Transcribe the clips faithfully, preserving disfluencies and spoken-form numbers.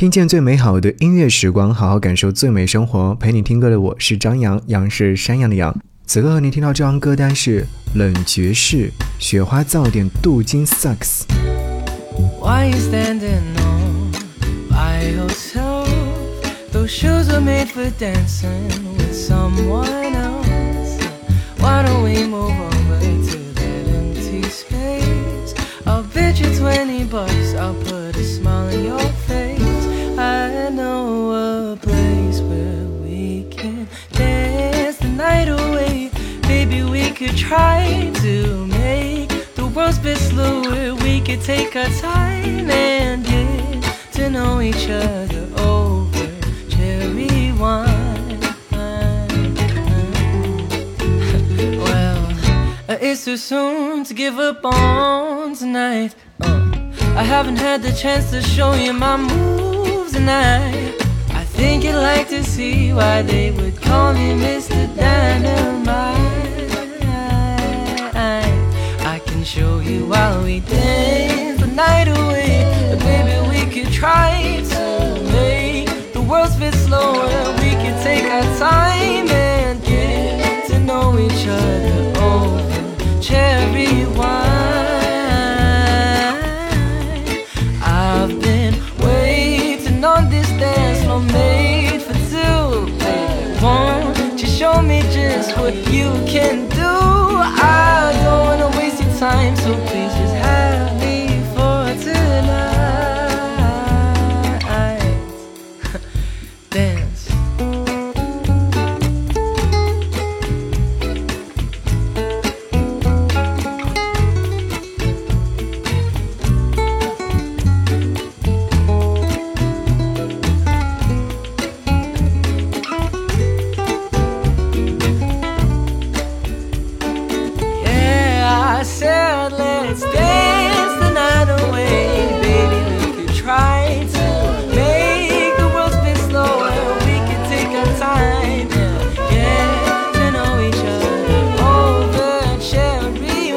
听见最美好的音乐时光，好好感受最美生活。陪你听歌的我是张扬，杨是山羊的羊。此刻和你听到这张歌单是冷爵士雪花噪点镀金萨克斯。 Why you standing on by yourself? Those shoes were made for dancing with someone else. Why don't we move over to that empty space? I'll bet you twenty bucks, I'll put a smile on your face. I know a place where we can dance the night away. Baby, we could try to make the world's best slower. We could take our time and get to know each other over cherry wine. Well, it's too soon to give up on tonight. uh, I haven't had the chance to show you my moves tonight. I think you'd like to see why they would call me Mister Dynamite. I can show you while we dance the night away. But baby, we could try to make the world's bit slower. We could take our time and get to know each other over cherry wine. I've been waiting on this dance floor made for two. Baby, won't you show me just what you can do? I don't wanna waste your time, so please just have me for tonight. Dance. I said let's dance the night away. Baby, we could try to make the world spin slower. We could take our time and get to know each other over cherry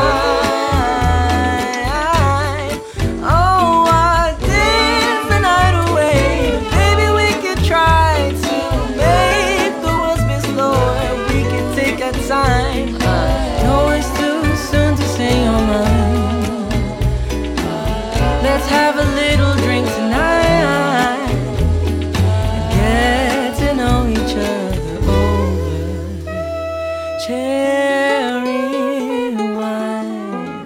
wine. Oh, I dance the night away. Baby, we could try to make the world spin slower. We could take our time. I know it's too soon to say your mind. Let's have a little drink tonight and get to know each other over cherry wine.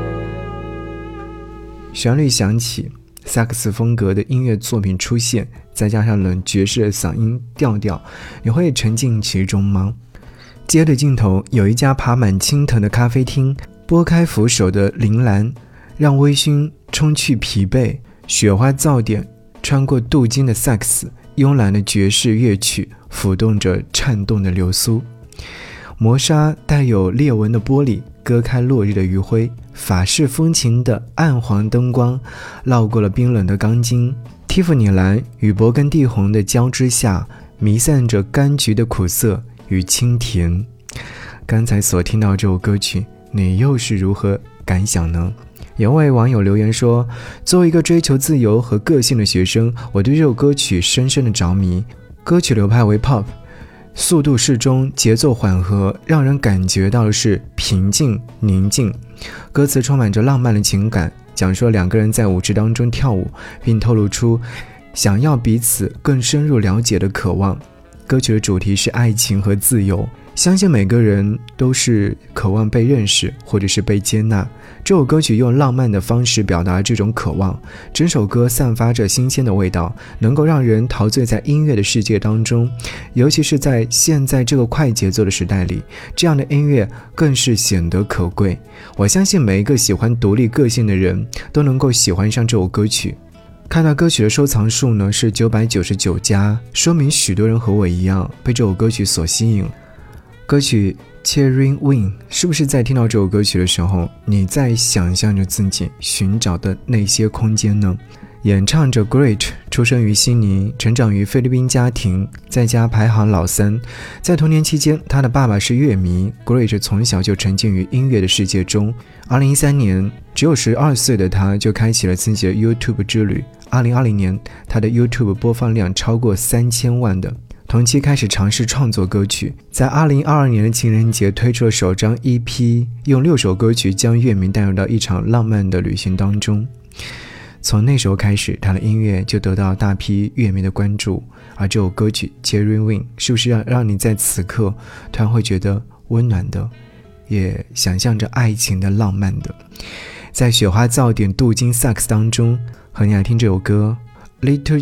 旋律响起，萨克斯风格的音乐作品出现，再加上冷爵士的嗓音调调，你会沉浸其中吗？街的尽头有一家爬满青藤的咖啡厅，拨开扶手的铃兰，让微醺冲去疲惫，雪花噪点穿过镀金的萨克斯，慵懒的爵士乐曲抚动着颤动的流苏。磨砂带有裂纹的玻璃割开落日的余晖，法式风情的暗黄灯光绕过了冰冷的钢筋，蒂芙尼蓝与勃艮第红的交织下，弥散着柑橘的苦涩与清甜。刚才所听到这首歌曲，你又是如何感想呢？有位网友留言说，作为一个追求自由和个性的学生，我对这首歌曲深深的着迷。歌曲流派为 pop， 速度适中，节奏缓和，让人感觉到的是平静宁静。歌词充满着浪漫的情感，讲述了两个人在舞池当中跳舞，并透露出想要彼此更深入了解的渴望。歌曲的主题是爱情和自由，相信每个人都是渴望被认识或者是被接纳。这首歌曲用浪漫的方式表达这种渴望，整首歌散发着新鲜的味道，能够让人陶醉在音乐的世界当中。尤其是在现在这个快节奏的时代里，这样的音乐更是显得可贵。我相信每一个喜欢独立个性的人都能够喜欢上这首歌曲。看到歌曲的收藏数呢是九百九十九加，说明许多人和我一样被这首歌曲所吸引。歌曲 Cherry Wine 是不是在听到这首歌曲的时候，你在想象着自己寻找的那些空间呢？演唱者 Great 出生于悉尼，成长于菲律宾家庭，在家排行老三。在童年期间，他的爸爸是乐迷， Great 从小就沉浸于音乐的世界中。二零一三年只有十二岁的他就开启了自己的 YouTube 之旅。二零二零年，他的 YouTube 播放量超过三千万的。同期开始尝试创作歌曲，在二零二二年的情人节推出了首张 E P， 用六首歌曲将乐迷带入到一场浪漫的旅行当中。从那时候开始，他的音乐就得到大批乐迷的关注，而这首歌曲 Cherry Wing 是不是让让你在此刻突然会觉得温暖的，也想象着爱情的浪漫的。在雪花噪点镀金萨克斯当中，和你来听这首歌 Little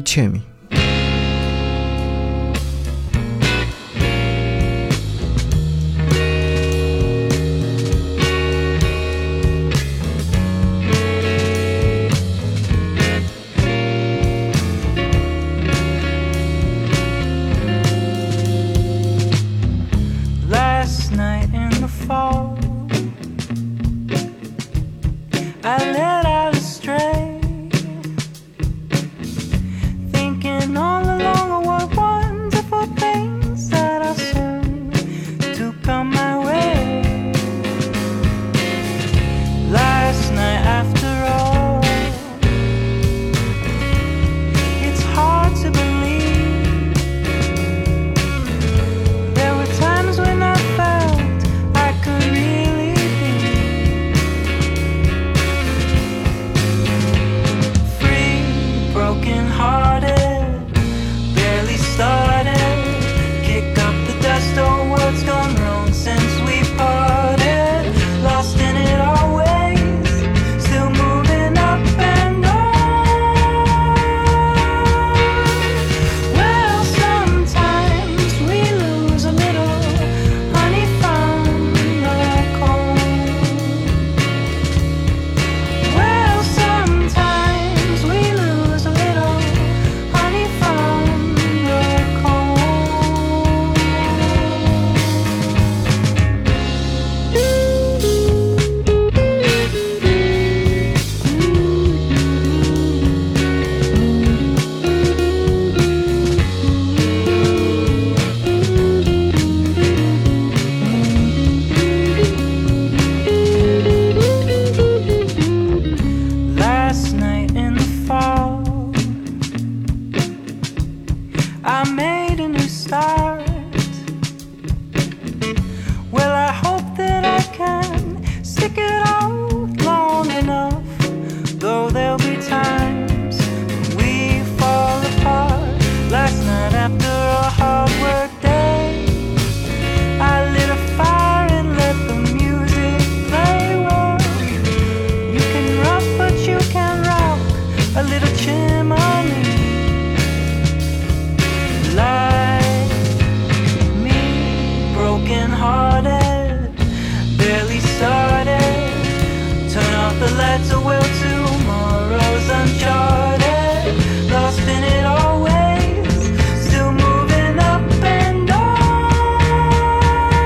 Chammy。Last night in the fall, I let out a stray, thinking all along what wonderful things that are soon to come my way. Last night after all, it's hard to believe. There were times when I felt I could really be free, broken hearted, barely started. Kick up the dust, oh what's gone wrong since we parted. Lost in it always, still moving up and on. Well, sometimes we lose a little honey from the comb. Well, sometimes we lose a little honey from the comb. Last night in the fall, I made a new start. Well, I hope that I can stick it out long enough, though there'll be times when we fall apart. Last night after a hard work day, I lit a fire and let the music play. Well, you can rock, but you can rock a little chimney. Like me, broken hearted, barely started. Turn off the lights, or well, tomorrow's uncharted. Lost in it always, still moving up and on.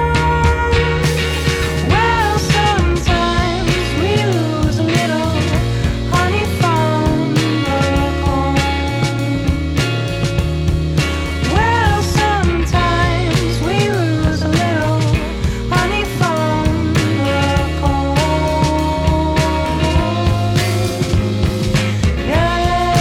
Well, sometimes we lose a little honey from the comb. Well, sometimes we lose a little honey from the comb. Yeah,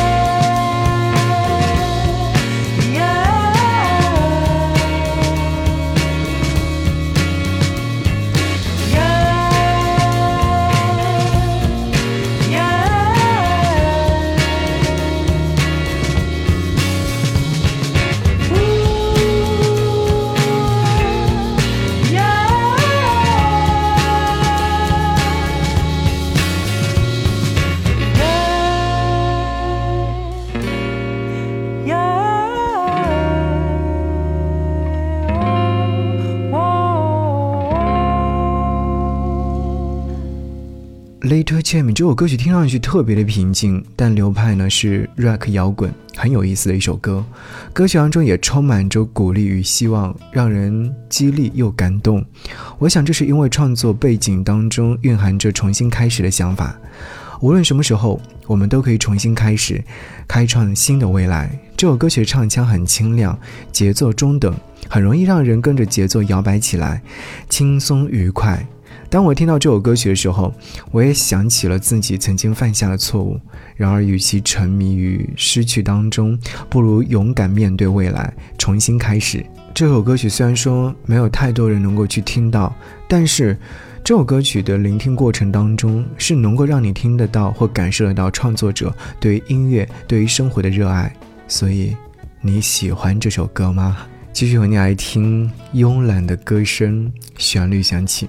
Little Chammy 这首歌曲听上去特别的平静，但流派呢是 rock 摇滚，很有意思的一首歌。歌曲当中也充满着鼓励与希望，让人激励又感动。我想这是因为创作背景当中蕴含着重新开始的想法。无论什么时候，我们都可以重新开始，开创新的未来。这首歌曲的唱腔很清亮，节奏中等，很容易让人跟着节奏摇摆起来，轻松愉快。 当我听到这首歌曲的时候，我也想起了自己曾经犯下的错误。然而与其沉迷于失去当中，不如勇敢面对未来，重新开始。这首歌曲虽然说没有太多人能够去听到，但是这首歌曲的聆听过程当中是能够让你听得到或感受得到创作者对于音乐对于生活的热爱。所以你喜欢这首歌吗？继续和你来听慵懒的歌声，旋律响起。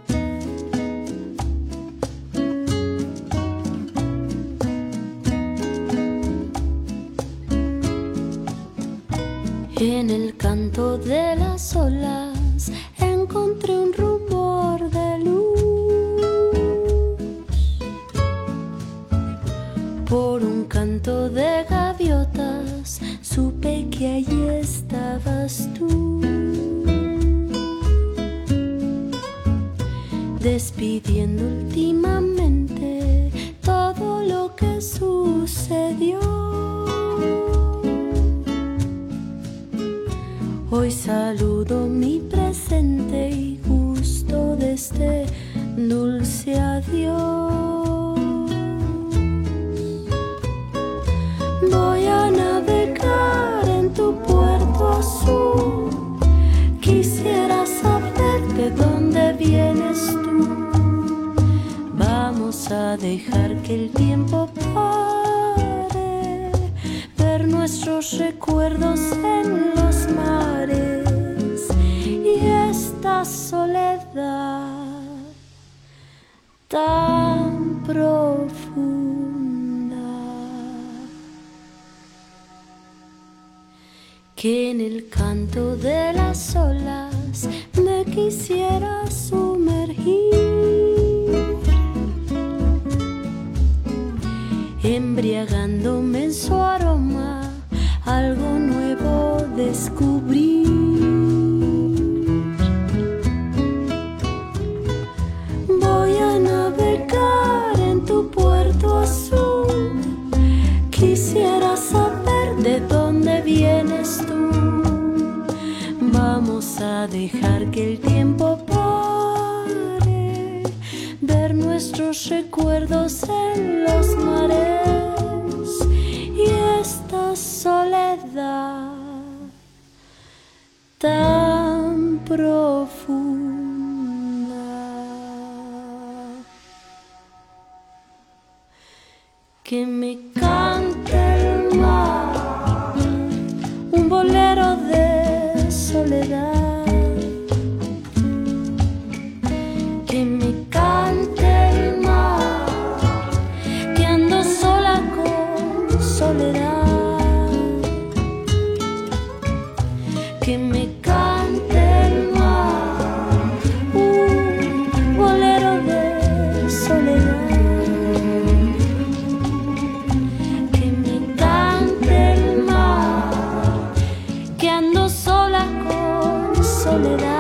En el canto de las olas encontré un rumor de luz. Por un canto de gaviotas supe que allí estabas tú, despidiendo últimamente todo lo que sucedió. Hoy saludo mi presente y gusto de este dulce adiós. Voy a navegar en tu puerto azul. Quisiera saber de dónde vienes tú. Vamos a dejar que el tiempo pare, ver nuestros recuerdos en los mares y esta soledad tan profunda que en el canto de las olas me quisiera sumergir, embriagándome en su aroma, algo nuevo descubrir. Voy a navegar en tu puerto azul. Quisiera saber de dónde vienes tú. Vamos a dejar que el tiempo pare, ver nuestros recuerdos en los mares y esta soledad tan profunda que me cante el mar, un bolero de soledad. Que me cante el mar, que ando sola con soledad. Que me cante el mar, un bolero de soledad. Que me cante el mar, que ando sola con soledad.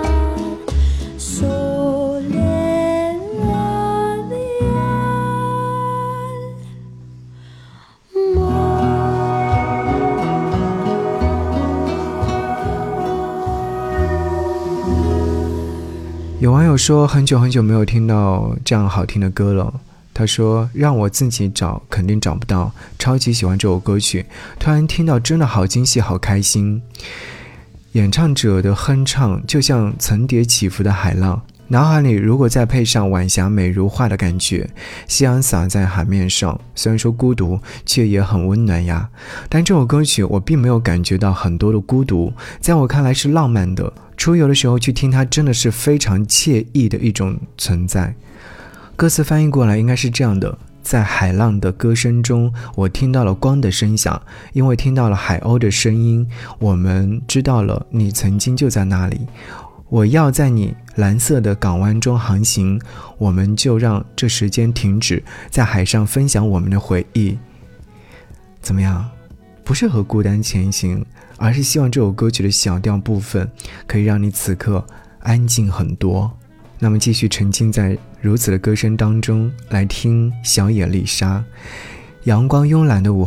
有网友说很久很久没有听到这样好听的歌了，他说让我自己找肯定找不到，超级喜欢这首歌曲，突然听到真的好惊喜好开心。演唱者的哼唱就像层叠起伏的海浪，脑海里如果再配上晚霞美如画的感觉，夕阳洒在海面上，虽然说孤独却也很温暖呀。但这首歌曲我并没有感觉到很多的孤独，在我看来是浪漫的，出游的时候去听它真的是非常惬意的一种存在。歌词翻译过来应该是这样的，在海浪的歌声中，我听到了光的声响，因为听到了海鸥的声音，我们知道了你曾经就在那里。我要在你蓝色的港湾中航行，我们就让这时间停止，在海上分享我们的回忆。怎么样？不是和孤单前行，而是希望这首歌曲的小调部分可以让你此刻安静很多。那么继续沉浸在如此的歌声当中，来听小野丽莎。阳光慵懒的午后，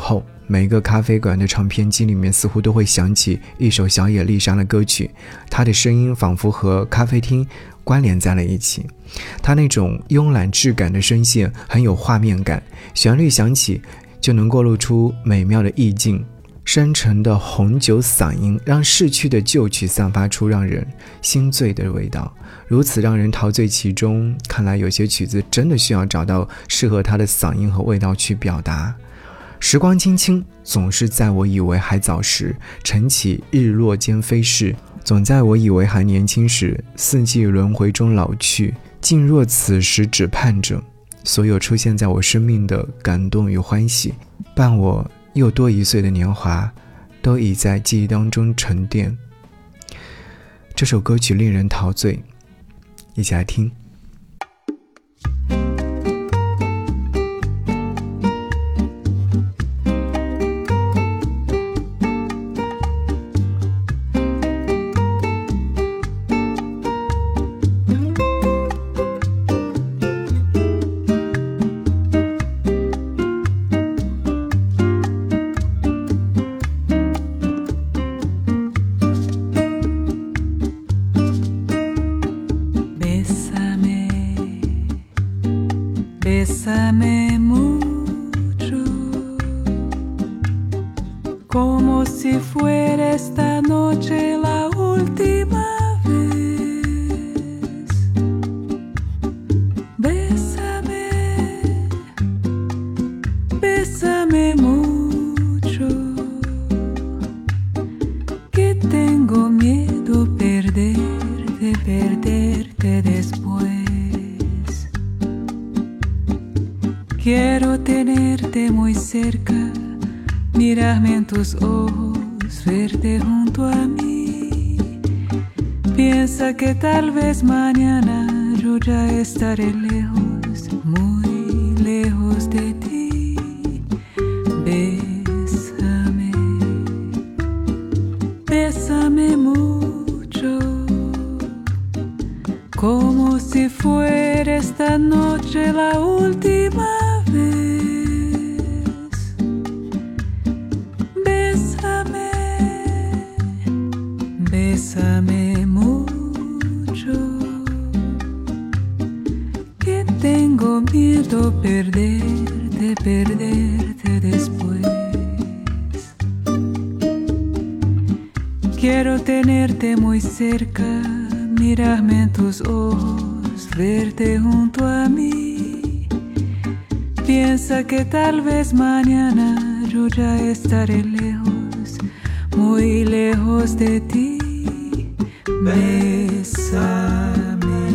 每一个咖啡馆的唱片机里面似乎都会响起一首小野丽莎的歌曲，她的声音仿佛和咖啡厅关联在了一起。她那种慵懒质感的声线很有画面感，旋律响起就能够露出美妙的意境。深沉的红酒嗓音让逝去的旧曲散发出让人心醉的味道，如此让人陶醉其中。看来有些曲子真的需要找到适合它的嗓音和味道去表达。时光轻轻，总是在我以为还早时，晨起日落间飞逝，总在我以为还年轻时，四季轮回中老去。竟若此时只盼着所有出现在我生命的感动与欢喜，伴我又多一岁的年华，都已在记忆当中沉淀。这首歌曲令人陶醉，一起来听。 Bésame mucho, como si fuera esta noche la última vez. Bésame, bésame mucho, que tengo miedo perderte, perderte después. Quiero tenerte muy cerca, mirarme en tus ojos, verte junto a mí. Piensa que tal vez mañana yo ya estaré lejos, muy lejos de ti. Bésame, bésame mucho, como si fuera esta noche la última vez. Bésame, bésame mucho, que tengo miedo perderte, perderte después. Quiero tenerte muy cerca, mirarme en tus ojos, verte junto a mí. Piensa que tal vez mañana yo ya estaré lejos, muy lejos de ti. Bésame,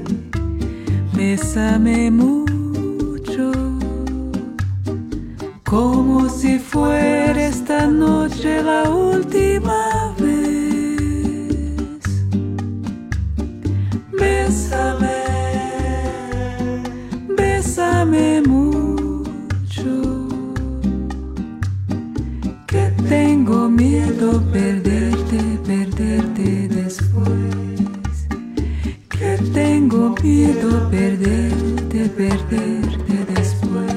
bésame mucho, como si fuera esta noche la última vez. Bésame, bésame mucho, que tengo miedo perderte, perderte después. Que tengo miedo perderte, perderte después.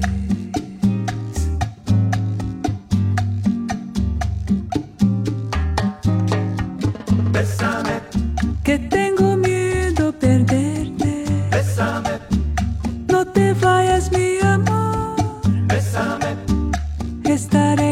Bésame, Que tengo miedo perderte. bésame, No te vayas, mi amor. bésame, Estaré